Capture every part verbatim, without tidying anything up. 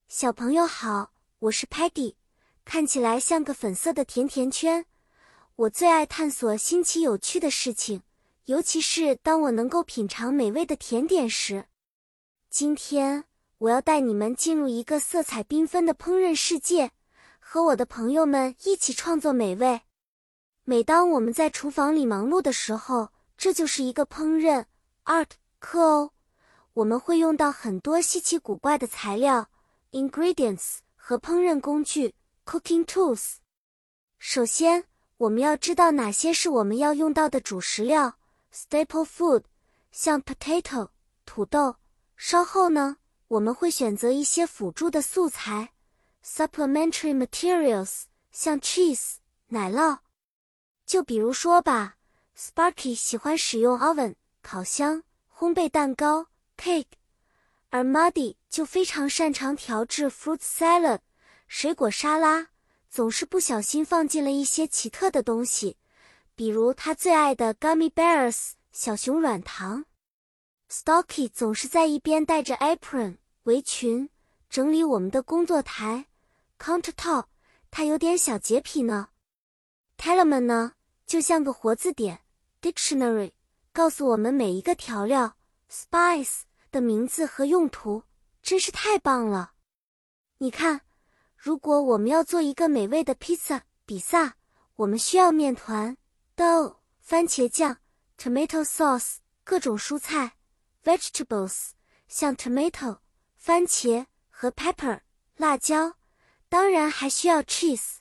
小朋友好，我是 Peggy， 看起来像个粉色的甜甜圈。我最爱探索新奇有趣的事情，尤其是当我能够品尝美味的甜点时。今天，我要带你们进入一个色彩缤纷的烹饪世界，和我的朋友们一起创作美味。每当我们在厨房里忙碌的时候，这就是一个烹饪 art 课哦。我们会用到很多稀奇古怪的材料 ingredients 和烹饪工具 cooking tools。首先，我们要知道哪些是我们要用到的主食料 staple food， 像 potato 土豆。稍后呢，我们会选择一些辅助的素材 supplementary materials， 像 cheese 奶酪。就比如说吧 Sparky 喜欢使用 oven 烤箱烘焙蛋糕 cake， 而 Muddy 就非常擅长调制 fruit salad 水果沙拉，总是不小心放进了一些奇特的东西，比如他最爱的 gummy bears 小熊软糖。Stocky 总是在一边带着 apron 围裙整理我们的工作台 countertop， 他有点小洁癖呢。Tellerman 呢，就像个活字典 dictionary， 告诉我们每一个调料 spice 的名字和用途，真是太棒了。你看，如果我们要做一个美味的披萨比萨，我们需要面团 dough 番茄酱 tomato sauce 各种蔬菜 vegetables 像 tomato 番茄和 pepper 辣椒，当然还需要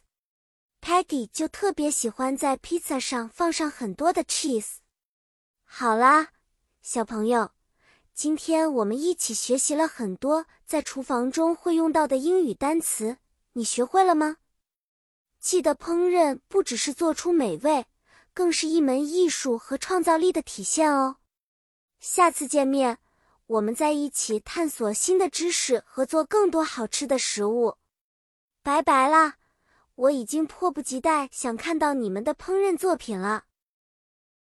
cheese。Peggy 就特别喜欢在披萨上放上很多的 cheese。好啦，小朋友，今天我们一起学习了很多在厨房中会用到的英语单词，你学会了吗？记得烹饪不只是做出美味，更是一门艺术和创造力的体现哦。下次见面，我们再一起探索新的知识和做更多好吃的食物。拜拜啦！我已经迫不及待想看到你们的烹饪作品了。